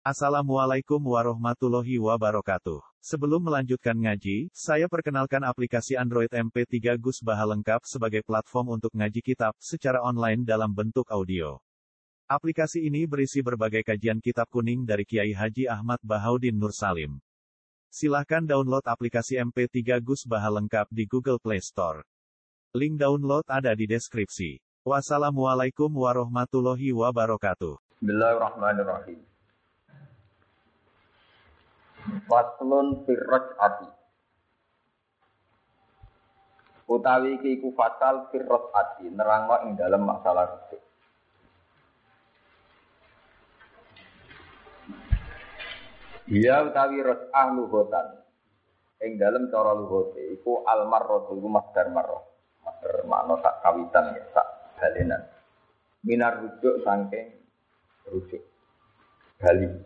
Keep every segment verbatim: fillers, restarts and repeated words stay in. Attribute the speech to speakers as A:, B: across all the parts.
A: Assalamualaikum warahmatullahi wabarakatuh. Sebelum melanjutkan ngaji, saya perkenalkan aplikasi Android M P tiga Gus Baha lengkap sebagai platform untuk ngaji kitab secara online dalam bentuk audio. Aplikasi ini berisi berbagai kajian kitab kuning dari Kiai Haji Ahmad Bahaudin Nur Salim. Silahkan download aplikasi M P tiga Gus Baha lengkap di Google Play Store. Link download ada di deskripsi. Wassalamualaikum warahmatullahi wabarakatuh.
B: Bismillahirrahmanirrahim. Faslun firraj ati utawi iki iku fasal firraj ati nerangno ing dalam masalah rujuk. Dia utawi raj'ah lughatan ing dalam cara lughote iku almarratu iku masdar marrah. Masdar makna sak kawitan ya sak balenan. Minar rujuk saking rujuk. Bali.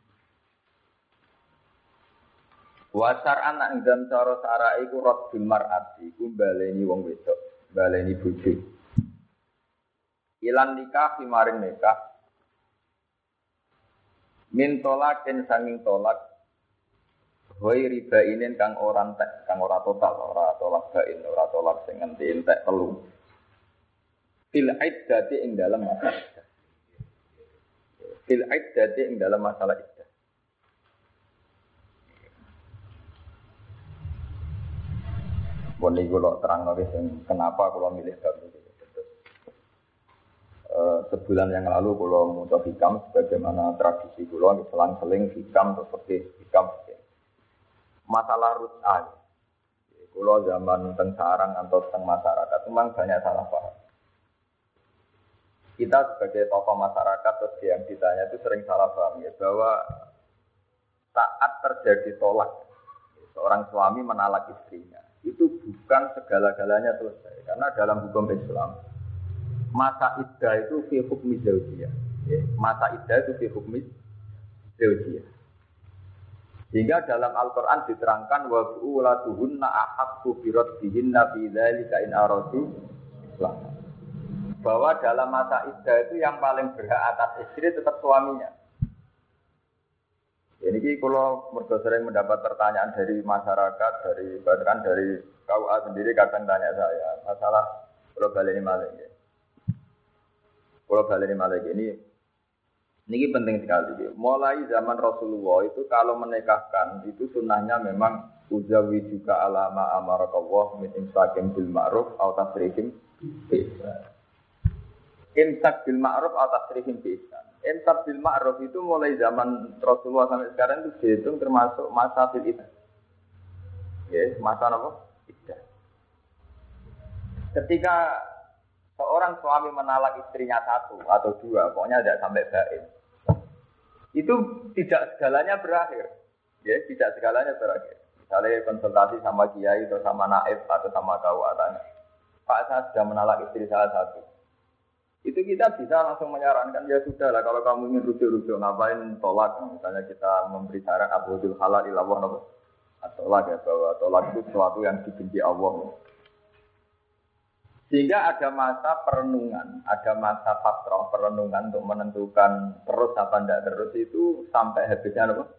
B: Wasar anak ing dalam cara sara iku raddul mar'ati iku baleni wong wedok, baleni bojo. Ilan nikah maring nikah. Min tolakin sanging tolak. Hoi ribainin kang ora entek, kang ora total, ora tolak bain, ora tolak sing nganti entek telu. Fil iddati ing dalam masalah iddah. Fil iddati ing dalam masalah iddah. Ini kalau terang lagi kenapa kalau milih bab ini. Uh, sebulan yang lalu kalau muncul hikam, sebagaimana tradisi kalau selang-seling hikam seperti hikam. Masalah rut'ah. Kalau zaman teng sarang atau teng masyarakat memang banyak salah paham. Kita sebagai tokoh masyarakat terus yang ditanya itu sering salah paham ya, bahwa saat terjadi tolak, seorang suami menalak istrinya. Itu bukan segala-galanya selesai. Karena dalam hukum Islam, masa iddah itu fi hukmi zaujiyah. Masa iddah itu fi hukmi zaujiyah. Sehingga dalam Al-Quran diterangkan wa bu'ulatuhunna ahaqqu biraddihinna fi dzalika in aradu islah. Bahwa dalam masa iddah itu yang paling berhak atas istri tetap suaminya. Ini kalau mereka sering mendapat pertanyaan dari masyarakat, dari bahkan dari K U A sendiri kadang tanya saya masalah kalau baleni malik. Kalau baleni malik ini, ini penting sekali. Mulai zaman Rasulullah itu kalau menikahkan itu sunnahnya memang uzawi juga alama amarakallah min imsakim bil ma'ruf atau tasrihim bi ihsan. Imsak bil ma'ruf atau tasrihim bi ihsan. Imsak bil ma'ruf itu mulai zaman Rasulullah sampai sekarang itu dihitung termasuk masa fil iddah. Ya, masa apa? Iddah. Ketika seorang suami menalak istrinya satu atau dua, pokoknya tidak sampai bain. Itu tidak segalanya berakhir. Ya, tidak segalanya berakhir. Misalnya konsultasi sama kiai atau sama naib atau sama K U A tanya, Pak, saya sudah menalak istri salah satu. Itu kita bisa langsung menyarankan, ya sudah lah kalau kamu ingin rujuk-rujuk ngapain tolak, misalnya kita memberi saran abudul halal ilallah tolak ya, bahwa tolak itu sesuatu yang dibenci Allah. Sehingga ada masa perenungan, ada masa fatrah perenungan untuk menentukan terus apa tidak terus itu sampai habisnya apa?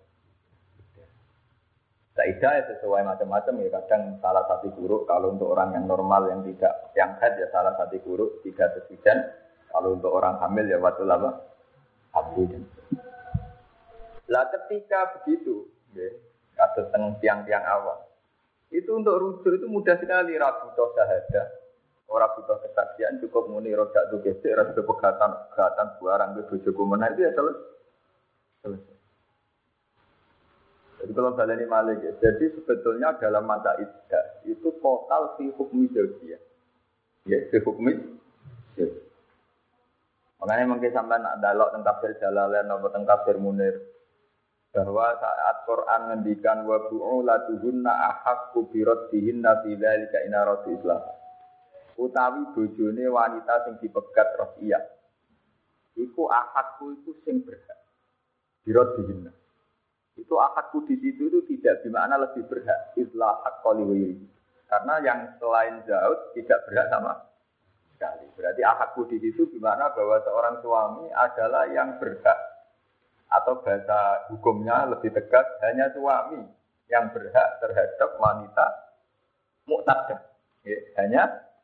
B: Kaidah ya sesuai macam-macam ya, kadang salah satu buruk kalau untuk orang yang normal yang tidak yang haid ya salah satu buruk tiga sesujan. Kalau untuk orang hamil ya waktu lama hamil. Lah ketika begitu, ya, kasus teng tiang-tiang awal, itu untuk rujuk itu mudah sekali, rabu toh syahadah, orang butuh kesaksian cukup muni rojak tuh gesek, rasa pegatan pegatan barang ke bojoku menah itu ya selesai. Jadi kalau baleni malik ya, jadi sebetulnya dalam masa iddah itu total fi hukmi zaujiyah, ya fi hukmi zaujiyah. Makanya mungkin sampai nak dalok tentang tafsir Jalalain atau tentang tafsir Munir bahwa saat Quran ngendikan wa bu'ulatuhunna ahaqqu biraddihinna fi dzalika in aradu islah. Utawi bojone wanita sing dipegat rosiyah. Iku ahaqqu itu sing berhak. Biraddihinna. Itu ahaqqu di situ itu tidak bermakna lebih berhak. Islah haqqali wa yiri. Karena yang selain Zaud tidak berhak sama sekali. Berarti akadku di situ gimana bahwa seorang suami adalah yang berhak Atau bahasa hukumnya lebih tegas, hanya suami yang berhak terhadap wanita mu'tadah. Ya, hanya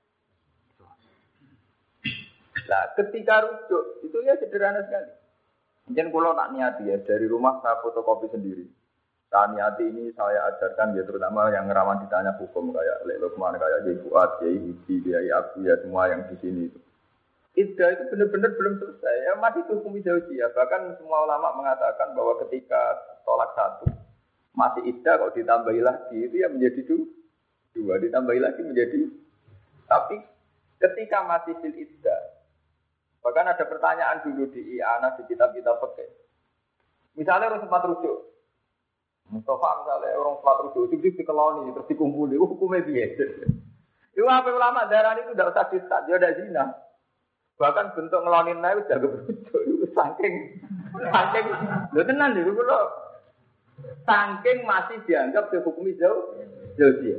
B: nah, ketika rujuk, itu ya sederhana sekali. Mungkin kalau nak niati ya, dari rumah saya fotokopi sendiri. Saya niati ini saya ajarkan ya, terutama yang rawan ditanya hukum, kayak Lek Lukman, kayak Yai Fuad, Yai Hudi, Yai Abu, ya semua yang di sini itu. Iddah itu benar-benar belum selesai, ya masih hukum zaujiyah. Bahkan semua ulama mengatakan bahwa ketika tolak satu, masih iddah kalau ditambahi lagi, itu ya menjadi dua, ditambahi lagi menjadi. Tapi ketika masih fil iddah, bahkan ada pertanyaan dulu di i'anah, di kitab-kitab fikih. Misalnya orang sempat rujuk, Mustafa misalnya orang sempat rujuk, itu dikeloni, terus dikumpuli, hukumnya biasa. Itu apa ulama darah itu tidak usah distat, dia ada zina. Bahkan bentuk ngelonin naik udah keberujuk, itu saking, saking, lo tenan dulu lo, saking masih dianggap dihukumi jauh, jauh dia.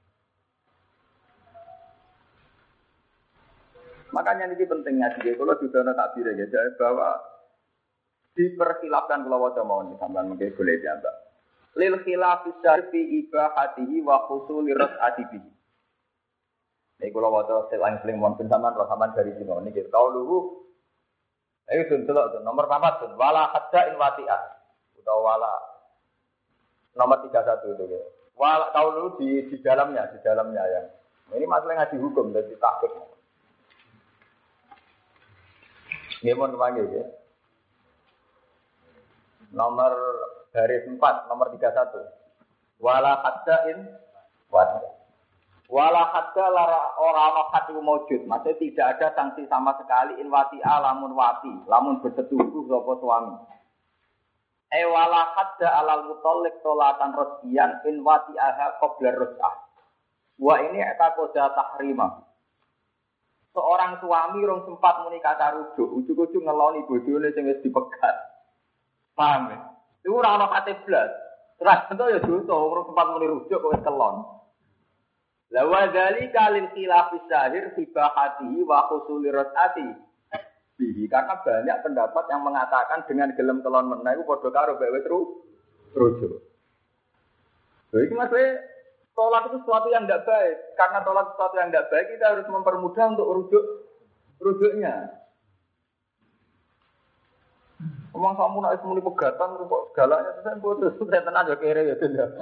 B: Makanya ini pentingnya dia, kalau sudah ada takbir ya, bahwa diperkhilafkan kalau wajah mau nih, sampai mungkin boleh dianggap. Lil khilafis syarfi ibahatihi wa khusuli ras'atibihi. Ini kalau waktu selang seling mohon pensamaan rasaman dari sini ini kita tahu dulu. Ayo tuh tuh nomor empat tuh wala hadda in wati'ah atau wala nomor tiga puluh satu itu ya. Wala tahu dulu di di dalamnya di dalamnya ya. Ini masalah ngaji hukum dan tahqiq. Nggih mohon panggil ya. Nomor garis empat nomor tiga puluh satu. Wala hadda in wati'ah. Wala hadda lara ora hadu maujud, maksudnya tidak ada sanksi sama sekali in wati'a lamun wati, lamun bersetubuh sapa suami. E wala hadda alal mutalliq tolatan rasyian in wati'aha qabla rus'ah. Wa ini eta qada tahrimah. Seorang suami rong sempat muni kata rujuk, ujug-ujug ngeloni bojone sing wis dipegat. Paham ya? Iku ora ana kate blas. Terus ento ya dosa, rong sempat muni rujuk kok wis kelon. La wa dzalika lil khilafis zahir fi bahatihi wa husuli rasati bihi, karena banyak pendapat yang mengatakan dengan gelem kelon meneh iku padha karo bae wis rujuk. Lha iki maksudnya tolak itu sesuatu yang tidak baik. Karena tolak sesuatu yang tidak baik, kita harus mempermudah untuk rujuk rujuknya. Omong kamu nak muni pegatan kok galaknya sampe putus saya tenan yo kere ya tidak.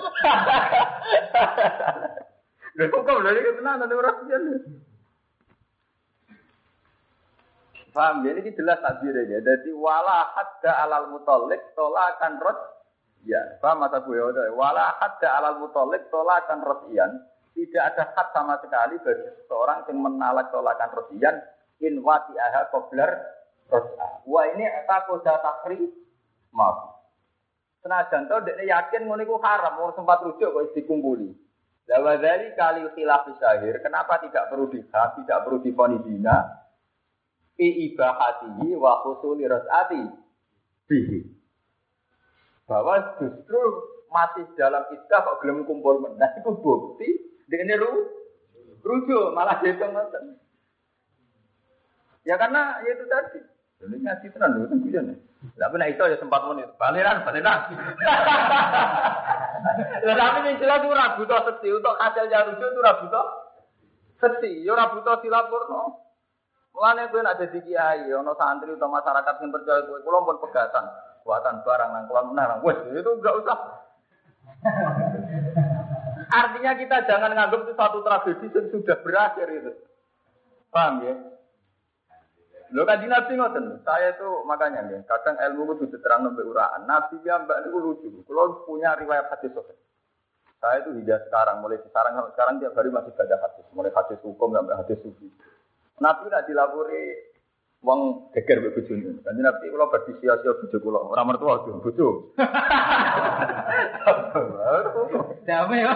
B: Lha kok lha iki tenan ora piye. Paham ya, ini jelas takbir ya. Jadi wala hadda alal mutalliq tolakan rad ya. Paham mata gue ya. Wala hadda alal mutalliq tolakan radian. Tidak ada had sama sekali bagi seseorang yang menalak tolakan radian in wati'aha qablar ras'a. Wah ini eta qada takri maaf. Senajan to dekne yakin ngono iku haram, ora sempat rujuk kok dikumpuli. La wa dzali kalil khilaf syahir, kenapa tidak perlu dihad, tidak perlu difonis zina? Fi ibahatihi wa husuli ras'ati bihi. Bahwa justru masih dalam iddah kok gelem kumpul meneh iku bukti dekne ru rujuk malah dihitung ngoten. Ya karena ya itu tadi. Jadi ngaji tenan lho kan kuwi. Lah nek iso ya sempat muni. Baliran, baliran. Lah tapi ning jelas ora butuh seksi untuk hasil rujuk itu ora butuh seksi, ya ora butuh dilapurno. Mulane kowe nek dadi kiai, ana santri utawa masyarakat sing percaya kowe, kula pun pegatan, buatan barang nang kula menang. Wes itu enggak usah. Artinya kita jangan nganggap itu satu tragedi yang sudah berakhir itu. Paham ya? Lho kanjeng Nabi ngoten, saya itu makanya ya, kadang ilmu itu diterangno mbek uraan. Nabi ya mbak niku lucu. Kalau punya riwayat hadis sahih. Saya itu hingga sekarang, mulai sekarang sampai sekarang tiap hari masih baca hadis, mulai hadis hukum sampai hadis sufi. Nabi nak dilapori wong geger mbek bojone. Kanjeng Nabi kula badhe sia-sia bojo kula, ora mertua bojo. Bojo. Damai.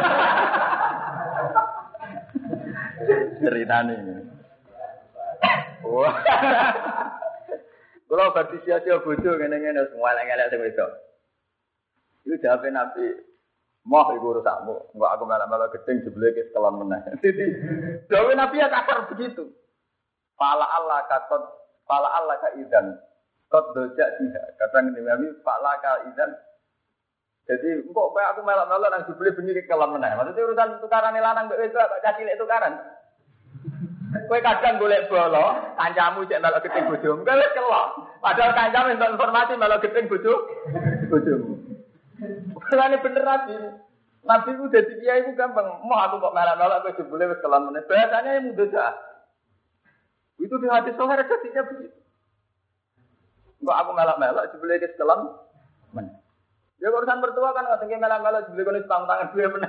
B: Ceritane ini. Wah. Kalau berarti sia-sia bojo ngene-ngene semua elek-elek sing wedok. Iku jawabe Nabi, "Moh iku urusakmu, engko aku malah-malah gedeng jebule ke sekelon meneh." Jadi, jawabe Nabi ya kasar begitu. Fala Allah katot, fala Allah ka idzan. Kot dojak dia. Kadang ini kami Pak Laka Izan. Jadi kok kayak aku melok-melok nang jebule bengi kelam meneh. Maksudnya urusan tukaran lanang mbek wedok kok cilik tukaran. Kowe kadang golek bolo, kancamu cek melok gedhe bojomu. Kowe wis kelok. Padahal kancamu entuk informasi melok gedhe bojo bojomu. Kalane bener Nabi. Nabi ku dadi kiai ku gampang. Mau aku kok melok-melok kowe jebule wis kelam meneh. Biasanya yang mudah. Itu di hadis sahih hadisnya begitu. Kok aku melak-melak jebule ke selam men. Ya urusan mertua kan nggak tinggi melak-melak jebule kono tang tangan duwe men.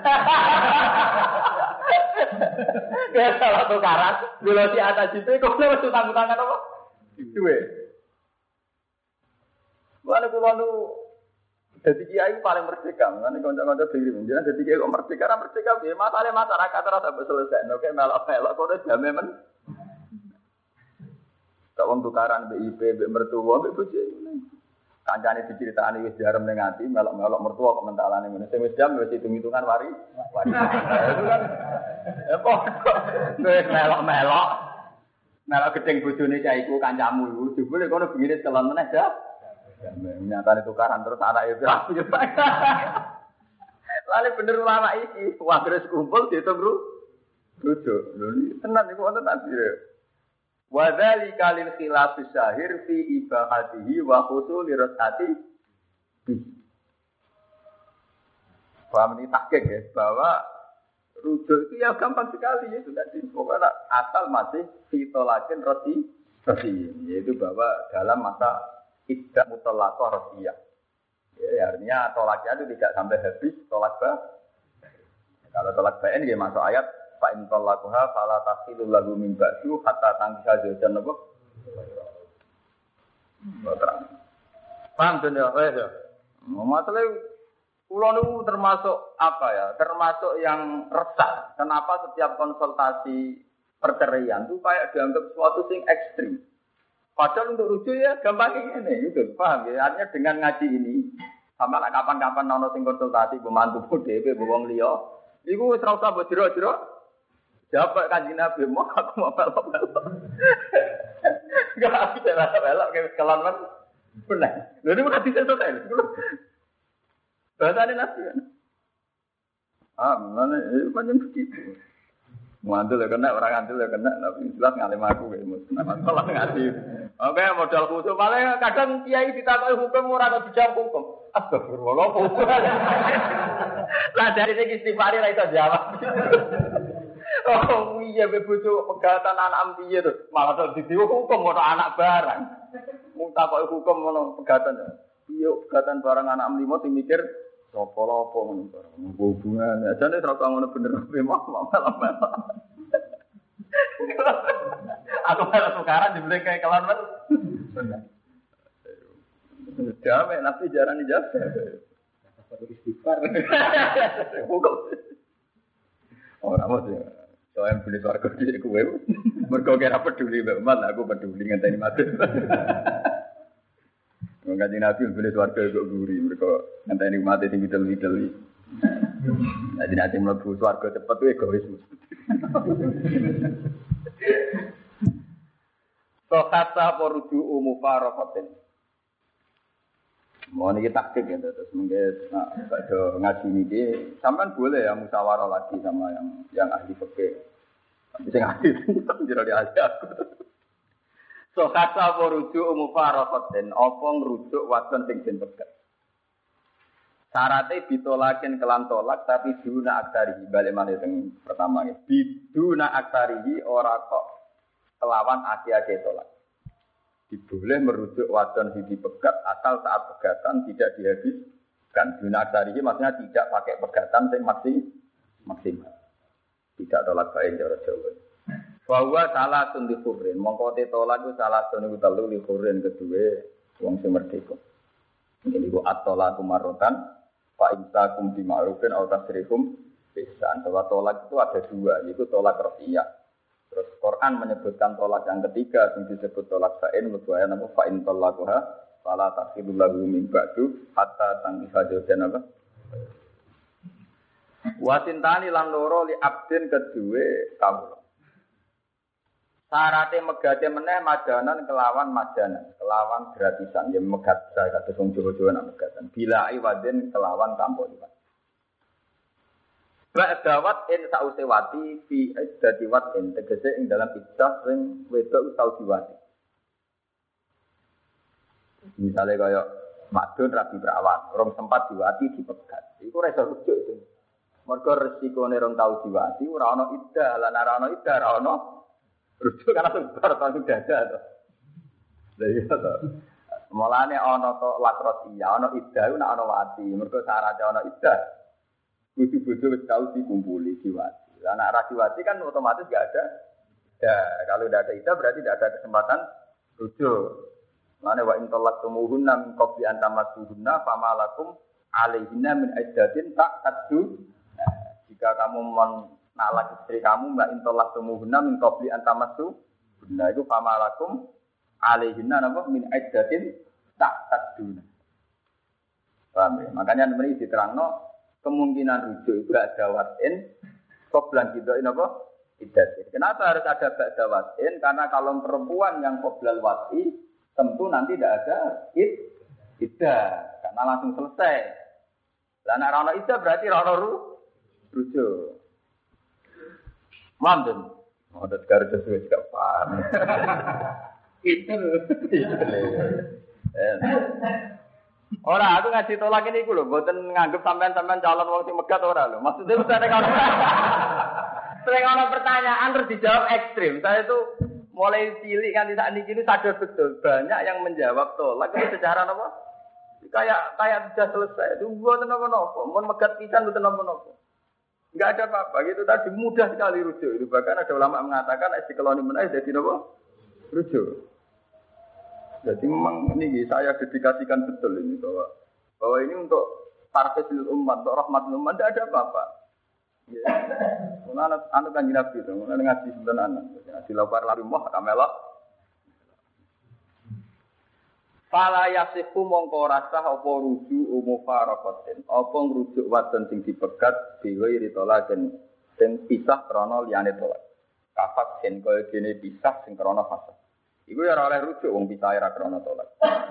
B: Ya salah tukaran, bila di atas itu kok wis tang tangan apa? Duwe. Wala kula nu dadi kiai paling merdeka, ngene kanca-kanca dhewe menjen dadi kiai kok merdeka, ra merdeka piye? Masalahe masyarakat ora sampe selesai, nek melak-melak kok jame men. Kak wong tukaran B I P, mbek mertua, mbek bojo. Kancane diceritani wis jarem ning ati, melok-melok mertua kok mentalane ngene. Sing wis jam wis hitung-hitungan wari. Wari. Itu kan ya kok wis melok-melok. Melok gedeng bojone cah iku kancamu iku. Jebule kono bengine celon meneh dah. Nyatane tukaran terus anake rapi. Lali bener ulama iki, wah terus kumpul dihitung ru. Rujuk. Lho iki tenan iku wonten tasbih. Wa dzalika lil khilaf syahir fi ibahatihi wa husul rasati. Paham ini takik ya, bahwa rujuk itu ya gampang sekali ya sudah di pokoknya asal masih fitolakin roti roti, yaitu bahwa dalam masa iddah mutlaqah rosiyah. Ya, artinya tolaknya itu tidak sampai habis tolak bah. Kalau tolak bain ya masuk ayat fa in talaquha fala tasilu lahu min ba'du hatta tangkiha zawjan apa? Terang. Paham to ya, wes ya. Masalah kula niku termasuk apa ya? Termasuk yang resah. Kenapa setiap konsultasi perceraian itu kayak dianggap sesuatu sing ekstrim. Padahal untuk rujuk ya gampang ini, gitu. Paham ya? Artinya dengan ngaji ini sama kapan-kapan nono sing konsultasi pembantu dhewe wong liya, iku wis ora usah mbok jero-jero. Jawab Kanjeng Nabi, mau aku mau pelok-pelok. Enggak bisa pelok-pelok kayak kelon kan. Benar. Lha niku hadis selesai. Bahasane Nabi kan. Ah, mana macam begitu. Ngandel ya kena, orang ngandel ya kena, tapi jelas ngalim aku kayak mus. Nama salah ngaji. Oke, modal khusus. Malah kadang kiai ditakoki hukum ora kok dijawab hukum. Astagfirullah. Lah dari segi istighfar ra iso jawab. Oh iya bebujo pegatan anak piye to. Malah tok didiwu hukum ora anak barang. Mung takoki hukum ngono pegatan. Iya pegatan barang anak limo sing mikir sapa-sapa ngono barang. Hubungan ajane ora ngono bener memang malah. Aku malah tukaran dibeli kayak kelan men. Bener. Jamai nabi jarang dijawab. Satu istighfar. Hukum. Ora mesti. Soalnya beli suarga di kue, mereka kira peduli banget, aku peduli ngenteni mati. Mengkaji nabi beli suarga kok gurih, mereka ngenteni mati tinggi tinggi tinggi. Jadi nanti melebu suarga cepat tuh egois. Sokata poruju umufarokotin. Mau nih taktik ya, terus mungkin kalau ngaji ini, sampai boleh ya musyawarah lagi sama yang yang ahli fikih. Tapi saya ahli itu jadi ahli aku. So kata merujuk mufarokotin, opong rujuk wadon sing den pegat. Syaratnya ditolakin kelan tolak, tapi duna aktarihi balik mana yang pertama ini. Biduna aktarihi ora kok kelawan aki-aki tolak. Boleh merujuk wadon sing dipegat asal saat pegatan tidak dihabiskan. Duna aktarihi maksudnya tidak pakai pegatan sing maksimal. Tidak tolak baik cara Jawa. Bahwa salah sun dikurin, mongko te tolak itu salah sun iku telu dikurin kedua wong sing merdeka. Ini ku at-tolak marotan, fa imsakum bi ma'rufin aw tasrihum bisan. Bahwa tolak itu ada dua, yaitu tolak rafiyah. Terus Quran menyebutkan tolak yang ketiga yang disebut tolak sain mubaya nama fa in talaquha fala tahillu lahu min ba'du hatta tankiha zawjan apa. Wa tintani lan loro li abdin kedue kawula. Sarate megate meneh majanan kelawan majanan, kelawan gratisan yen megat saya kados wong Jawa-Jawa nak megatan. Bila iwadin kelawan tanpa iwad. Ba'dawat in sause wati fi iddati watin tegese ing dalam iddah sing wedok tau diwati. Misale kaya madun rabi perawat, rong sempat diwati dipegat. Iku ora iso rujuk itu. Mergo resikone rong tau diwati ora ana iddah, lan ora ana iddah ora ana rujuk karena sebar tau dada to. Lha iya to. Mulane ana to lakros iya, ana iddah nek ana wati. Mergo syarat ana iddah bojo-bojo wis tau dikumpuli diwati. Lah nek ra diwati kan otomatis enggak ada. Ya, kalau tidak ada iddah berarti tidak ada kesempatan rujuk. Mane wa in talaqtumuhunna min qabli an tamassuhunna famalakum alaihinna min iddatin ta'taddu. Nah, jika kamu menalak istri kamu mbak in talaqtumuhunna min qabli an tamassuhunna itu famalakum alaihinna napa min iddatin ta'taddu. Paham ya? Makanya ini diterangno kemungkinan rujuk itu ada watin, qoblan gidoin apa? Iddat. Kenapa harus ada ba'da watin? Karena kalau perempuan yang qoblal wati, tentu nanti tidak ada id, iddah. Karena langsung selesai. Lah nek ora iddah berarti ora ru rujuk. Mandem. Oh, dat karo sesuai gak paham. Itu. Ora, aku ngaji tolak ini iku lho, mboten nganggep sampean-sampean calon wong sing megat ora lho. Maksudnya wis ana kalau sering ana pertanyaan terus dijawab ekstrim. Saya itu mulai cilik kan saat niki ini sadar betul banyak yang menjawab tolak itu secara apa? Kayak kayak sudah selesai. Itu mboten napa-napa, mun megat pisan mboten napa-napa. Enggak ada apa-apa, gitu tadi mudah sekali rujuk. Itu bahkan ada ulama mengatakan nek dikeloni menawa dadi napa? Rujuk. Jadi memang ini saya dedikasikan betul ini bahwa bahwa ini untuk tarfisil umat, untuk rahmatul umat tidak ada apa-apa. Ya. Anak anak kan Nabi itu, anak ngaji sebenarnya, ngaji lapar lari mah kamelok. Fala yasifu mongko rasah apa rujuk umufaraqatin, apa ngrujuk wadon sing dipegat dhewe ritolaken sing pisah krana liyane tolak. Kafat sen kaya dene pisah sing krana fasad. Iku ya ora oleh rujuk wong pisahe ra krana tolak.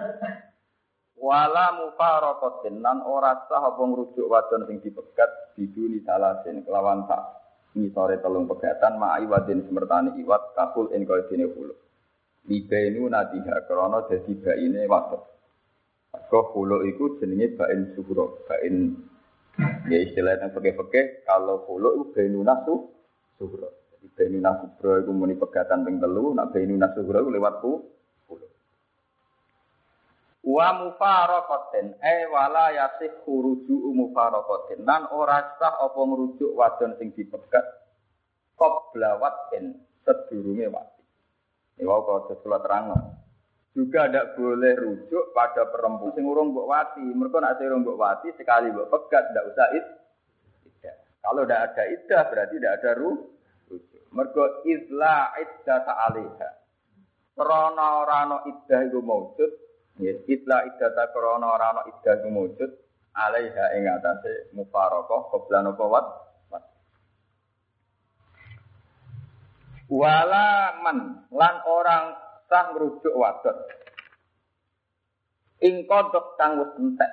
B: Wala mufaraqatin lan ora sah apa ngrujuk wadon sing dipegat diduni salasin kelawan sak ngisore telung pegatan ma'i wadin semertane iwat kakul ing kaya dene hulu. Libenu nadiha krana dadi baine wadon. Kok hulu iku jenenge bain suhura, bain ya istilah nang peke-peke kalau hulu iku bainu nasu suhura. Bainu nasubro iku muni pegatan ping telu, nek bainu nasubro iku lewat ku. Wa mufaraqatin ay wala yasih khuruju mufaraqatin lan ora sah apa ngrujuk wadon sing dipegat qabla watin sedurunge wati. Iki wae kok kula terangno. Juga ndak boleh rujuk pada perempuan sing urung mbok wati. Mergo nek sing urung mbok wati sekali mbok pegat ndak usah id. Kalau ndak ada iddah berarti ndak ada rujuk. Mergo izla iddah ta'aliha. Krana ora ana iddah iku maujud, ya izla iddah ta krana ora ana iddah iku maujud, alaiha ing atase mufaraqah qabla napa wat. Wala man lan orang sah ngrujuk wadon. Ing kodok kang wis entek.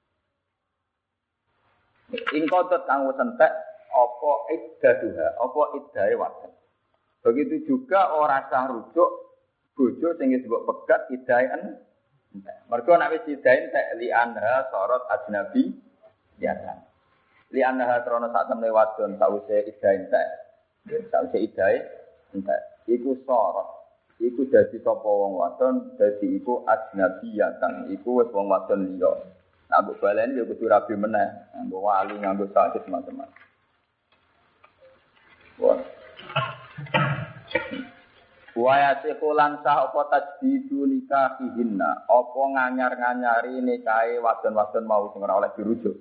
B: Ing kodok kang wis entek apa iddaduha, apa iddahe wadon. Begitu juga orang sah rujuk bojo sing disebut pegat iddahe entek. Mergo nek wis iddahe entek li anha sorot ajnabi biasa. Li anha trono sak temne wadon sawise iddahe entek. Sawise iddahe entek. Iku sorot. Iku dadi sapa wong wadon, dadi iku ajnabiyatan. Iku wis wong wadon liya. Nah, mbok baleni ya kudu rabi meneh, nganggo wali, nganggo sakit macam-macam. Wa yasiqulan sah apa tajdidu nikahihinna, apa nganyar-nganyari nikahe wadon-wadon mau sing ora oleh dirujuk.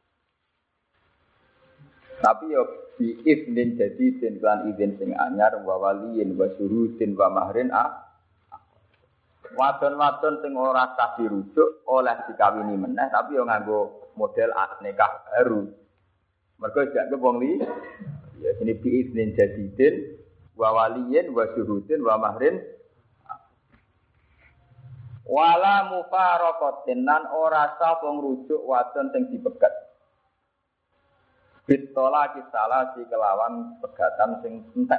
B: Tapi yo bi iznin jadi den lan izin sing anyar wa waliyin wa syuhudin wa mahrin ah. Wadon-wadon sing ora sah dirujuk oleh dikawini meneh tapi yo nganggo model nikah baru. Mergo jak wong li ya sini bi iznin jadidin wa waliyin wa syuhudin wa mahrin wala mufaraqatin lan ora sapa ngrujuk wadon sing dipegat bitola kisalah si kelawan pegatan sing entek.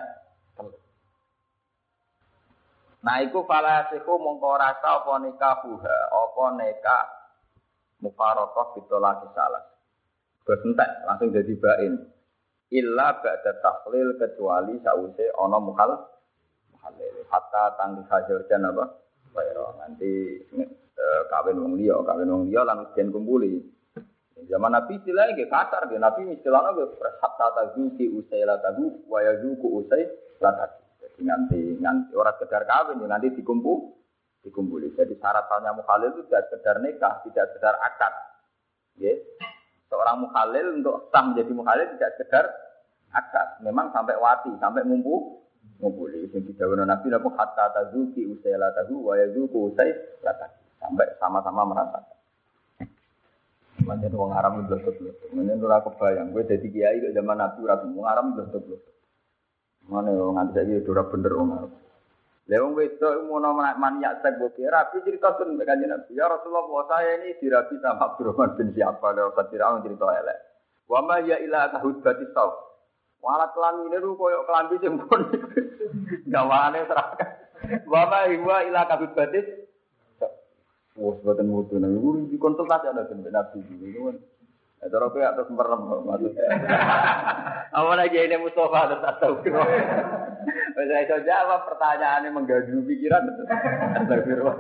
B: Nah iku falasiku mongko ora sapa nikahuha apa nikah mufaraqah bitola kisalah. Wis entek langsung dadi bain. Illa ba'da tahlil kecuali sause ana mukhal muhalil hatta tangki hajar jan apa bayro nanti e, kawin wong liya kawin wong liya lan den kumpuli zaman Nabi istilah nggih kasar nggih Nabi istilahna nggih hatta tazuki usaila tahu wa yazuku usai latat jadi nanti nanti ora sekedar kawin nanti dikumpul dikumpuli jadi syaratnya mukhalil itu tidak sekedar nikah tidak sekedar akad nggih seorang mukhalil untuk sah menjadi mukhalil tidak sekedar akad memang sampai wati sampai ngumpul ngumpuli sing didhawuhna Nabi napa hatta tazuki usaila tahu wa yazuku usai latat sampai sama-sama merasakan. Macam wong Arab itu blok-blok. Menen ora kebayang kowe dadi kiai kok zaman Nabi ora wong Arab blok-blok. Mane wong nganti saiki ora bener wong Arab. Lah wong wedok ngono maniak sek kok rapi cerita ten kanjeng Nabi. Ya Rasulullah saya ini dirabi sama Abdurrahman bin siapa lho Fatirah cerita elek. Wa ma ya ila tahudbatis saw. Walat kelamine lu koyo kelambi sing pun gawane serahkan. Wa ma huwa ila tahudbatis wah, buatan mutu nih. Guru di konsultasi ada sampai nabi gitu kan. Ada orang yang atas merem maksudnya. Awal lagi ini Mustafa ada tahu. Saya itu jawab pertanyaannya mengganggu pikiran. Astagfirullah.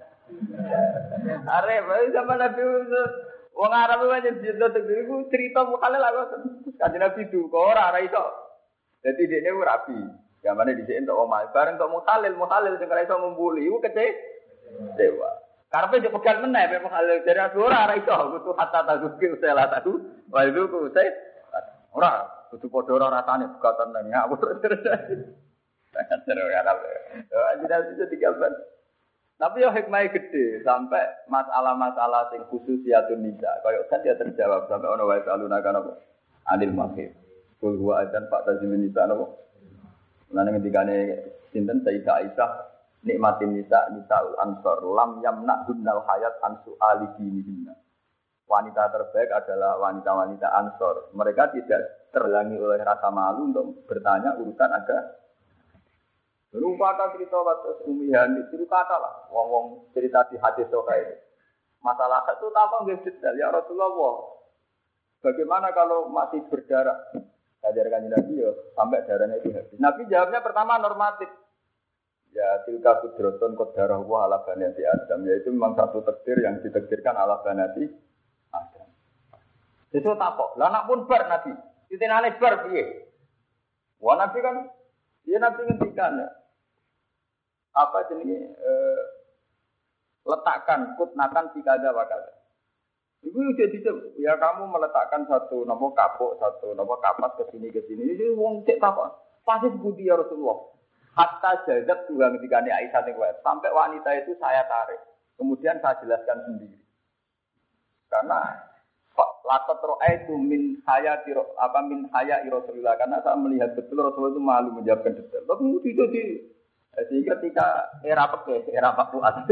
B: Are, baru sama nabi itu. Wong Arab itu aja cerita tentang cerita mukhalil aku. Kaji nabi itu kau orang itu. Jadi dia ini rapi. Yang mana di sini untuk omal. Bareng untuk mukhalil, mukhalil sekarang itu membuli. Itu kece dewa. Karena dia pegang meneh, memang hal dari ora ora iso, kudu hatta tazuki usai lah satu, wal itu ku usai ora, kudu padha ora rasane pegatan nang ngawur terus. Sangat seru ya Arab. Jadi itu tiga belas. Tapi yo hikmah gede sampai masalah-masalah sing khususiyatun nisa. Kayak kan dia terjawab sampai ono wae saluna kan apa? Adil mahir. Kul huwa adzan pak tazimin nisa napa? Lan ngendikane sinten Sayyidah Aisyah nikmatin nisa nisaul ansor lam yamna hunnal hayat ansu ali dinihina. Wanita terbaik adalah wanita-wanita ansor. Mereka tidak terhalangi oleh rasa malu untuk bertanya urusan agama. Berupa kata cerita waktu umihan itu kata lah, wong-wong cerita di hadis sokai itu. Masalah itu tanpa nggak detail ya Rasulullah. Bagaimana kalau masih berdarah? Ajarkan Nabi ya sampai darahnya itu habis. Nabi jawabnya pertama normatif. Ya tilka kudroton kodarah wa ala banati Adam. Yaitu memang satu takdir yang ditakdirkan ala banati Adam. Itu tak kok. Lah nak pun bar Nabi. Titinane bar piye? Wah Nabi kan dia Nabi ngendikan ya. Apa jenenge eh, letakkan kutnatan tikada wakada. Ibu jadi ya kamu meletakkan satu nomor kapuk, satu nomor kapas ke sini ke sini. Ini wong cek apa? Pasti budi ya Rasulullah. Hatta jazab juga ketika ini Aisyah ning sampai wanita itu saya tarik. Kemudian saya jelaskan sendiri. Karena latat ro'aitu min hayati apa min hayati Rasulullah karena saya melihat betul Rasulullah itu malu menjawabkan detail. Tapi itu di sehingga ketika era peke, era Pak Fuad.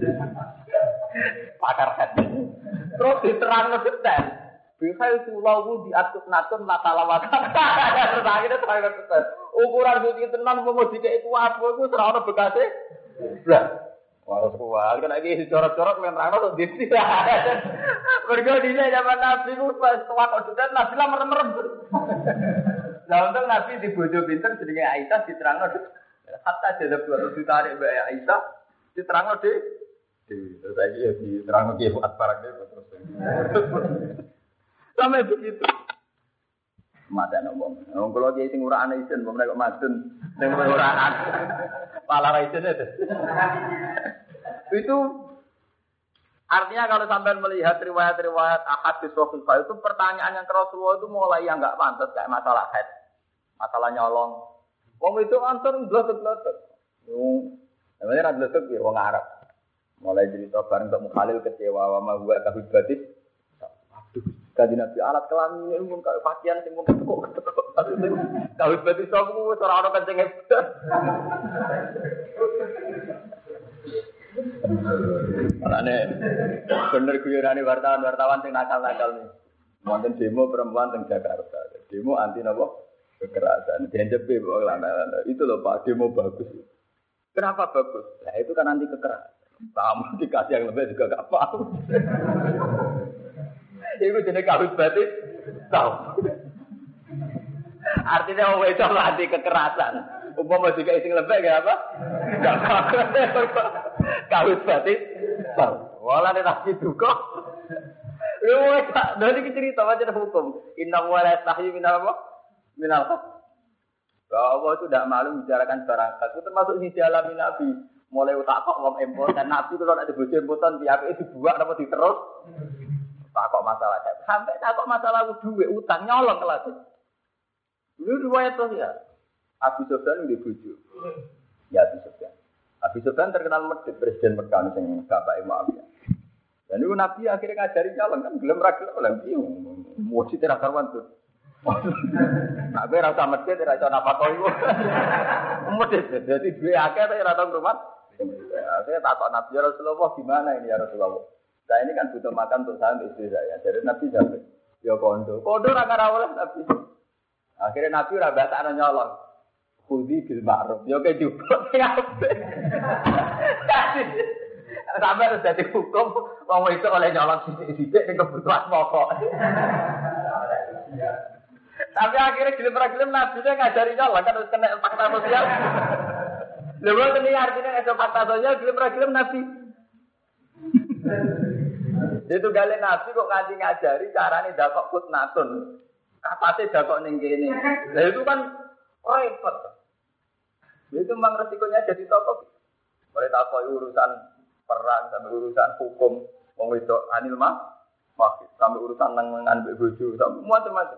B: Pakar hadis. Terus diterangno detail. Bihal sulawu diatur natun latalawat. Terus akhirnya terangno detail. Ukuran suci tenan mau dikek iku apa iku ora ono bekase. Blas. Waras kuwi kan iki corot-corot men nerangno to dadi. Mergo dine zaman Nabi ku pas tuwak odotan Nabi lah merem-merem. Lah untung Nabi di bojo pinter jenenge Aisyah diterangno hatta jadab dua ditarik Mbak Aisyah diterangno de. Terus saiki ya diterangno ki Fuad barang terus. Sampai begitu. Mata nak wong. Wong kula iki sing ora ana isin, wong nek kok madun sing ora ana. Pala ra isin itu. Itu artinya kalau sampai melihat riwayat-riwayat ahadits Rasulullah itu pertanyaan yang ke Rasulullah itu mulai yang enggak pantas kayak masalah haid, masalah nyolong. Wong itu antar blot-blot. Wong namanya ra blot ya wong Arab. Mulai cerita bareng untuk Mukhalil kecewa wa ma huwa kahudbatis. Aduh, Kanjeng Nabi alat kelamin mun kaya pakaian sing mun ketekuk-ketekuk. Kawit berarti sopo ora ono kenceng hebat. Malane bener guyonane wartawan-wartawan sing nakal-nakal nih. Wonten demo perempuan teng Jakarta. Demo anti napa? Kekerasan. Dianjepe kok lanang. Itu loh Pak, demo bagus. Kenapa bagus? Nah, itu kan anti kekerasan. Kamu dikasih yang lebih juga gak paham. Itu jenis kawit berarti tahu. Artinya orang itu anti kekerasan. Umpama jika isi lebih gak apa? Gak apa. Kawit berarti tahu. Walau dia tak gitu kok. Lu tak dari cerita macam hukum. Inna wala tahyi minal apa? Minal haq. Bahwa Allah itu tidak malu membicarakan barang hak. Itu termasuk di dalam Nabi. Mulai utak kok ngom empot dan Nabi kalau ada bojo empotan tiap itu dibuat apa diterus. Takok masalah sampai takok masalah duit utang nyolong kelas. Dulu riwayat tuh ya. Abu Sufyan di bojo. Ya Abu Sufyan. Abu Sufyan terkenal medhit presiden Mekah sing bapak Muawiyah. Dan itu Nabi akhirnya ngajari nyolong kan gelem ra gelem lha piye mau cita ra karuan tuh. Nah, gue rasa medhit ra iso napa kok iku. Medhit dadi duwe akeh ta ora tau rumah. Saya takut Nabi ya Rasulullah gimana ini ya Rasulullah. Saya ini kan butuh makan untuk saya untuk istri saya. Jadi Nabi jawab, ya kondo. Kondo ra karawala Nabi. Akhirnya Nabi ora batakno nyolong. Khudi bil ma'ruf. Ya ke juga ngape. Sampai harus jadi hukum wong itu oleh nyolong sithik-sithik ning kebutuhan pokok. Tapi akhirnya gelem-gelem Nabi dia ngajari nyolong kan harus kena fakta sosial. Lha ini artinya ada fakta sosial gelem-gelem Nabi. Itu gale Nabi kok nganti ngajari carane dakok kutnatun. Kapate dakok ning kene. Lah itu kan repot. Itu memang resikonya jadi tokoh. Mulai takoi urusan perang sampai urusan hukum, wong wedok anil mah, sampai urusan nang-nangan mbek bojo, sampai macam-macam.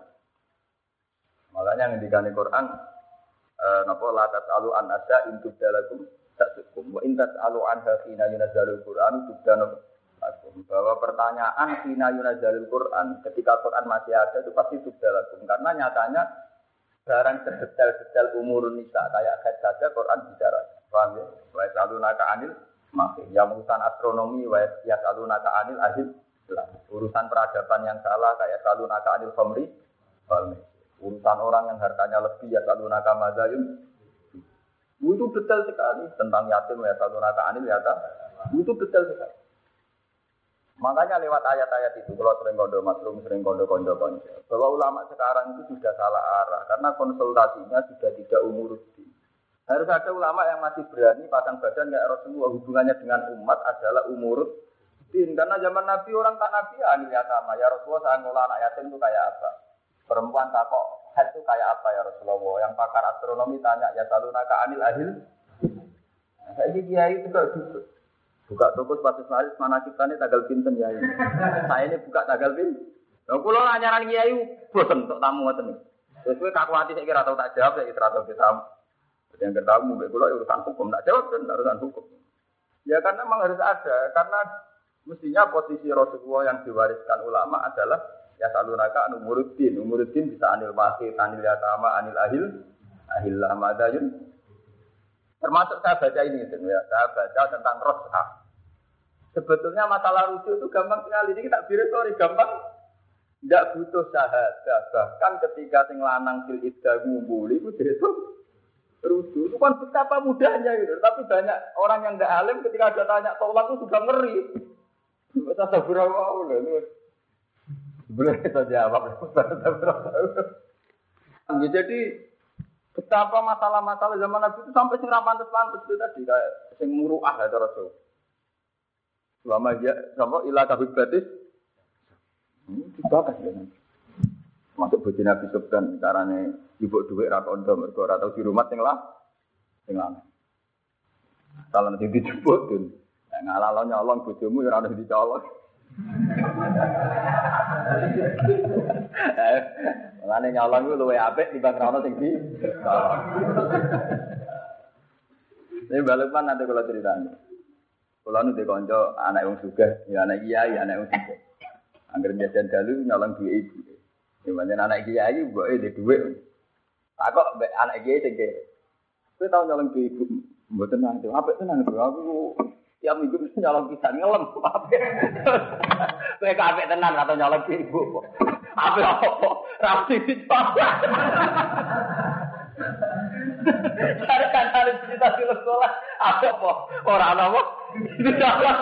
B: Makanya ngendikane Quran eh napa la tasalu an asa in tudalakum tasukum wa in tasalu anha hina yunazzalul Quran tudana bahwa pertanyaan hina yunazzalul Quran ketika Quran masih ada itu pasti tudalakum karena nyatanya barang sedetail-detail umur nisa kayak haid saja Quran bicara. Paham ya? Wa yasalunaka anil mahid. Yang urusan astronomi wa yasalunaka anil ahid. Urusan peradaban yang salah kayak yasalunaka anil khamri wal maisir. Urusan orang yang hartanya lebih yasalunaka madzayun. Itu detail sekali tentang yatim yasalunaka anil yata. Itu detail sekali. Makanya lewat ayat-ayat itu, kalau sering kondo masrum, sering kondo kondo kondo, bahwa ulama sekarang itu sudah salah arah, karena konsultasinya sudah tidak umuruddin. Harus ada ulama yang masih berani pasang badan kayak Rasulullah, hubungannya dengan umat adalah umuruddin. Karena zaman Nabi orang tak Nabi anil yatama, ya Rasulullah saya ngolah anak yatim itu kayak apa? Perempuan takok haid itu kayak apa ya Rasulullah? Yang pakar astronomi tanya ya salunaka anil ahil. Nah, saya ini kiai itu enggak gitu. Buka toko sepatu selaris, mana kita ini tanggal pinten ya ini. Saya ini buka tanggal pinten. Nah, kalau nyaran kiai, bosan untuk tamu ngoten. Terus gue kaku hati saya kira tahu tak jawab, saya kira tahu kita. Yang ketemu, gue kalau urusan hukum tak jawab kan, urusan hukum. Ya karena memang harus ada, karena mestinya posisi Rasulullah yang diwariskan ulama adalah ya salunaka anu umuruddin. Umuruddin bisa anil mahid, anil yatama, anil ahil, ahil lamadayun. Termasuk saya baca ini, ya. Saya baca tentang ros'ah. Sebetulnya masalah rujuk itu gampang sekali. Ini kita biru sorry gampang. Tidak butuh syahadah. Bahkan ketika sing lanang fil iddah ngumpuli itu dihitung rujuk. Itu kan betapa mudahnya gitu. Tapi banyak orang yang tidak alim ketika ada tanya tolak itu sudah ngeri. Kita sabura wow loh. Boleh kita jawab. Jadi betapa masalah-masalah zaman Nabi itu sampai sing ra pantes-pantes itu tadi kayak sing muruah ya Rasul. Selama ya sama ila kabibatis hmm, dibahas ya. Masuk bojo Nabi Sufyan carane ibu dhuwit ra kondo mergo ora tau di rumah sing lah sing lanang. Salah nanti dijemput tuh. Ngalalo nyolong bojomu ya ora ono dicolong. Lane nyolong ku luwe apik timbang rono sing di colong. Ini balapan nanti kalau ceritanya. Kalau nu dikonco anak wong sugih, ya anak kiai, anak wong sugih. Angger jajan dalu nyolong duit ibu. Gimana anak kiai mbok e duit. Tak kok mbek anak kiai sing kene. Kowe tau nyolong duit ibu. Mboten nang itu. Apik tenan aku. Tiap minggu mesti nyolong pisan ngelem. Kowe kabeh tenan atau nyolong duit ibu. Apik apa? Rapi dicoba. Cari kan harus cerita di sekolah. Apa apa? Orang apa? Dicoba.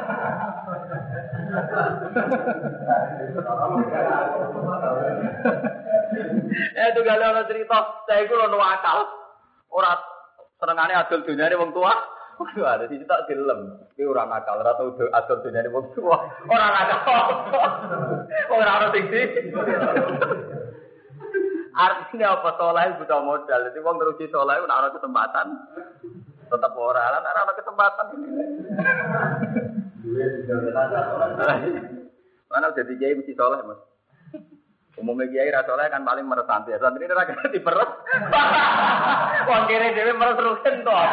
B: Eh itu gale ana cerita, saya iku ono akal. Ora senengane adol dunyane wong tua. Waduh, ada siji tak dilem. Iki ora nakal, ora tau adol dunyane wong tua. Ora nakal. Ora ono sing di. Artinya apa soleh butuh modal. Jadi wong teruji soleh ora ono kesempatan. Tetap ora, lan ora ono kesempatan. Mana udah di kiai mesti soleh mas. Umumnya kiai rasa soleh kan paling meresant ya. Santri ini rakyat diperes. Wong kiri dewi meres rugen toh.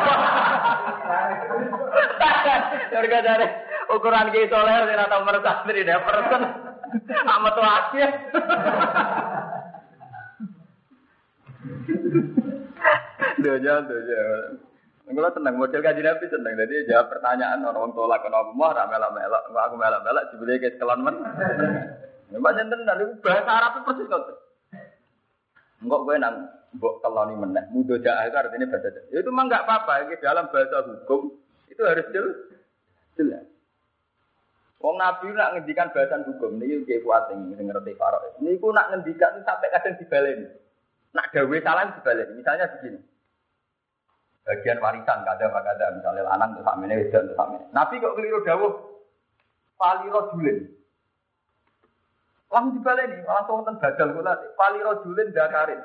B: Harga dari ukuran kiai soleh tidak tahu meres santri dia persen. Amat tuh aja. Doja doja. Kalau tenang model kaji nabi tenang, jadi jawab pertanyaan orang tolak kenapa mau ramelak melak, aku melak melak dibeli ke sekolah men. Banyak tenang, itu bahasa Arab itu persis kau. Enggak gue nang bok keloni meneh, mudo jah itu artinya bahasa. Itu mah enggak apa-apa, ini dalam bahasa hukum itu harus jelas. Jelas. Wong nabi nak ngendikan bahasan hukum, ini kayak kuat yang ngerti Farouk. Ini aku nak ngendikan sampai kadang dibalen. Nak dawe salah dibalen. Misalnya begini. Bagian warisan kada kada misalnya lanang terus samene wedok terus samene. Nabi kok keliru dawuh faliro julin. Langsung dibaleni, langsung wonten badal kula faliro julin dakarin.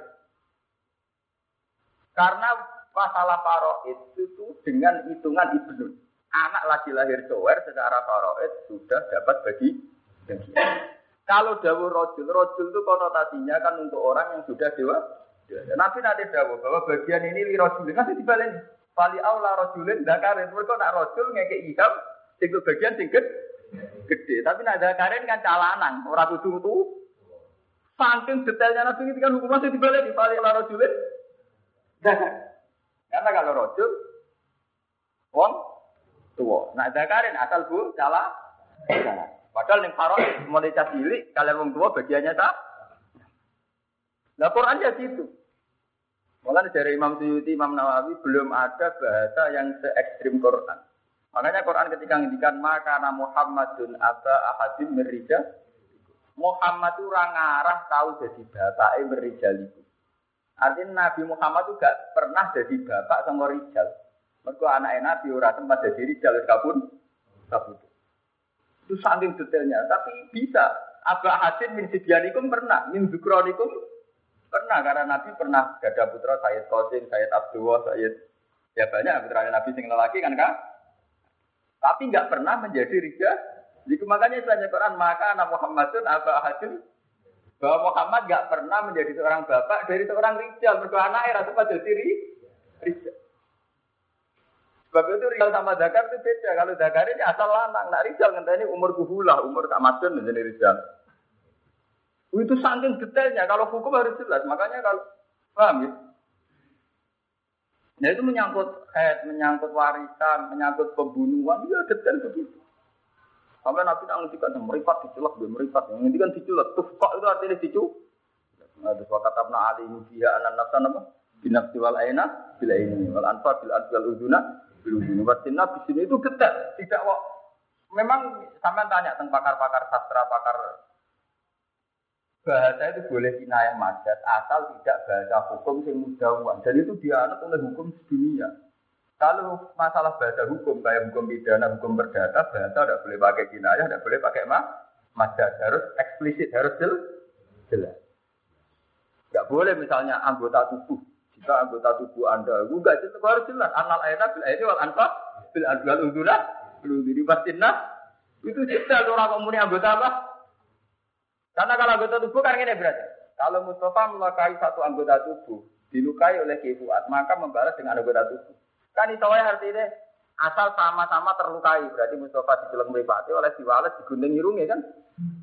B: Karena masalah faraid itu dengan hitungan ibnu. Anak lagi lahir cower secara faraid sudah dapat bagi bagian. Kalau dawuh rajul, rajul itu konotasinya kan untuk orang yang sudah dewa. Ya, Nabi nanti dawuh bahwa bagian ini li rajulin masih dibalen. Fali aula rajulin dakarin. Mergo nak rajul ngekek iham sing bagian sing gede. Tapi nak dakarin kan calanan, ora kudu tu. Saking detailnya Nabi itu kan hukum masih dibalen di fali aula rajulin dakarin. Karena kalau rajul wong tua. Nak dakarin asal bu cala. Padahal ning Farouk mulai cilik kalian wong tua bagiannya tak. Nah Quran ya gitu. Malah dari Imam Suyuti, Imam Nawawi belum ada bahasa yang se ekstrim Quran. Makanya Quran ketika ngendikan maka na Muhammadun aba ahadim mirija. Muhammad itu orang ngarah tahu jadi bapake merijaliku. Artinya Nabi Muhammad itu gak pernah jadi bapak sama rijal. Mergo anake Nabi ora tempat jadi rijal kabun kabut. Itu saking detailnya, tapi bisa. Aba ahadim min sibyanikum pernah, min zukronikum pernah, karena Nabi pernah gada putra Sayyid Qasim, Sayyid Abdullah, Sayyid ya banyak putra Nabi sing lelaki kan kak. Tapi enggak pernah menjadi rijal. Jadi makanya istilahnya Quran maka anak Muhammadun aba ahadun bahwa Muhammad enggak pernah menjadi seorang bapak dari seorang rijal. Mergo anake ra sempat jadi rijal. Sebab itu rijal sama zakar itu beda. Kalau zakar ini asal lanang, nak rijal ngenteni umur kuhulah, umur tak madun menjadi rijal. Itu saking detailnya, kalau hukum harus jelas. Makanya kalau, paham ya? Nah itu menyangkut head, menyangkut warisan, menyangkut pembunuhan, ya detail begitu. Sampai Nabi nak ngendikan meripat diculak, meripat. Yang ngendikan diculak, tufkak itu artinya dicu. Nah, terus wakatabna alaihi fiha anan nafsan apa? Binafsi wal aina, bila ini, wal anfa, bil anfi wal uduna, bil uduna. Wasinna di sini itu detail. Tidak kok. Memang sampai tanya tentang pakar-pakar sastra, pakar bahasa itu boleh kinayah majaz asal tidak bahasa hukum yang mudawan dan itu dianut oleh hukum dunia. Kalau masalah bahasa hukum kayak hukum pidana, hukum perdata, bahasa tidak boleh pakai kinayah, tidak boleh pakai majaz, harus eksplisit, harus jelas. Tidak boleh misalnya anggota tubuh, jika anggota tubuh Anda enggak itu harus jelas. Anal ayat bil ayat wal anfa bil adwal uduna belum diribatinna itu jelas orang komuni anggota apa? Karena kalau anggota tubuh kan ini berarti. Kalau Mustafa melukai satu anggota tubuh, dilukai oleh Ki Fuad, maka membalas dengan anggota tubuh. Kan itu artinya asal sama-sama terlukai. Berarti Mustafa dijeleng mripate oleh Si Walid digunting irunge kan.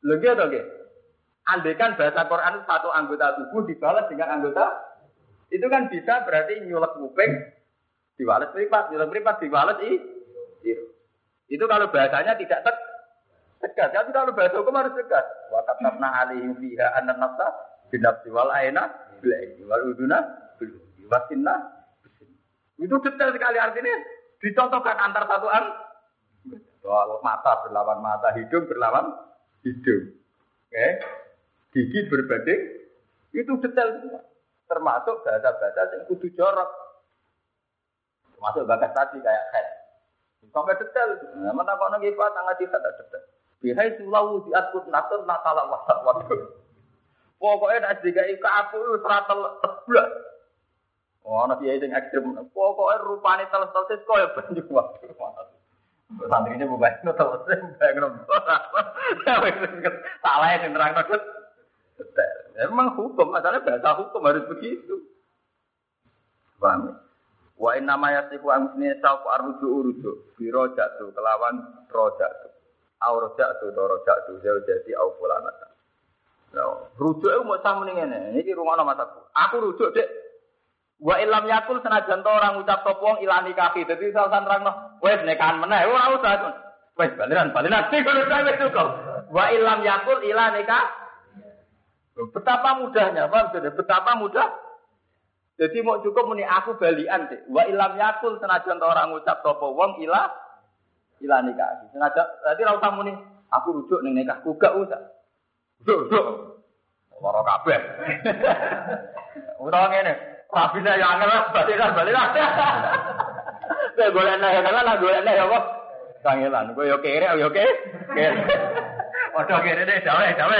B: Lho nggih to nggih. Andaikan bahasa Quran satu anggota tubuh dibalas dengan anggota itu kan bisa berarti nyulek kuping diwales mripat, nyulek mripat diwales i. Itu kalau bahasanya tidak tek, tegas. Tapi kalau bahasa hukum harus tegas. Wa katabna alaihim fiha anna nafsa binafsi wal aina bil aini wal uduna bil wasinna. Itu detail sekali artinya dicontohkan antar satu an. Soal mata berlawan mata, hidung berlawan hidung. Oke. Okay. Gigi berbanding itu detail semua. Termasuk bahasa-bahasa yang kudu jorok. Termasuk bagas tadi kayak head. Sampai detail. Nah, mana kok nang ifa tangga di kata detail. Bihai sulawu diatur natur natala wasat waduh. Pokoknya nek digawe kapu seratel teblak. Oh, ana kiai sing ekstrem. Pokoknya rupane teles-teles koyo banyu waduh. Santrinya bukan teles bayang salah yang terang detail. Memang hukum, masalahnya bahasa hukum harus begitu. Paham? Wa inna ma yasifu amsni sa'u arruju uruju bi rojatu kelawan rojatu. Au rojatu to rojatu jadi au fulanata. Nah, rujuk itu mau sama nih ngene. Iki rungono mataku. Aku rujuk Dek. Wa illam yakul senajan to orang ucap sapa wong ilani kaki. Dadi salah nerangno, wis nekahan meneh ora usah. Wis baliran baliran sing ngono wis cukup. Wa illam yakul ilani kaki. Betapa mudahnya, Pak. Betapa mudah. Jadi mau cukup muni aku balian deh. Wa ilam yakul senajan orang ngucap sapa wong ila ila nikah. Senajan berarti ora usah muni aku rujuk ning nikahku gak usah. Rujuk. Lara kabeh. Utawa ngene, rabine ya angel balikan balikan. Kowe golek nek kan lah golek nek apa? Kangelan. Kowe yo kere yo kere. Padha kere deh, dawe-dawe.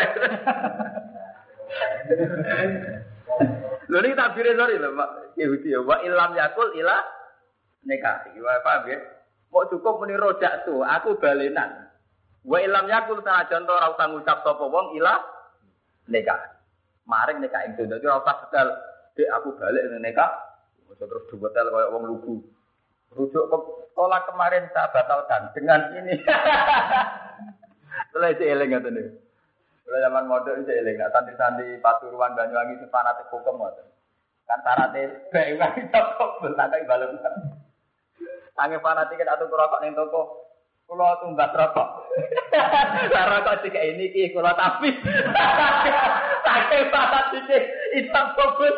B: Lho niki tabire sori lho Pak Yahudi ya wa ilam yakul ila nikah. Wa paham ya? Mau cukup muni rojak tu, aku balenan. Wa ilam yakul sanajan to ora usah ngucap sapa wong ila nikah. Maring nikah ing dadi ora usah sedal, Dek aku balik ning nikah. Mesti terus duwetel koyo wong lugu. Rujuk ke sekolah kemarin saya batalkan dengan ini. Mulai dieling ngoten niku. Kalau zaman modern saya eling, santri-santri Pasuruan Banyuwangi itu fanatik hukum ngoten. Kan syaratnya baik wae toko belakang balem. Sange fanatik atau rokok ning toko, kula tumbas rokok. Lah rokok sik ini iki kula tapi. Sange fanatik hitam fokus.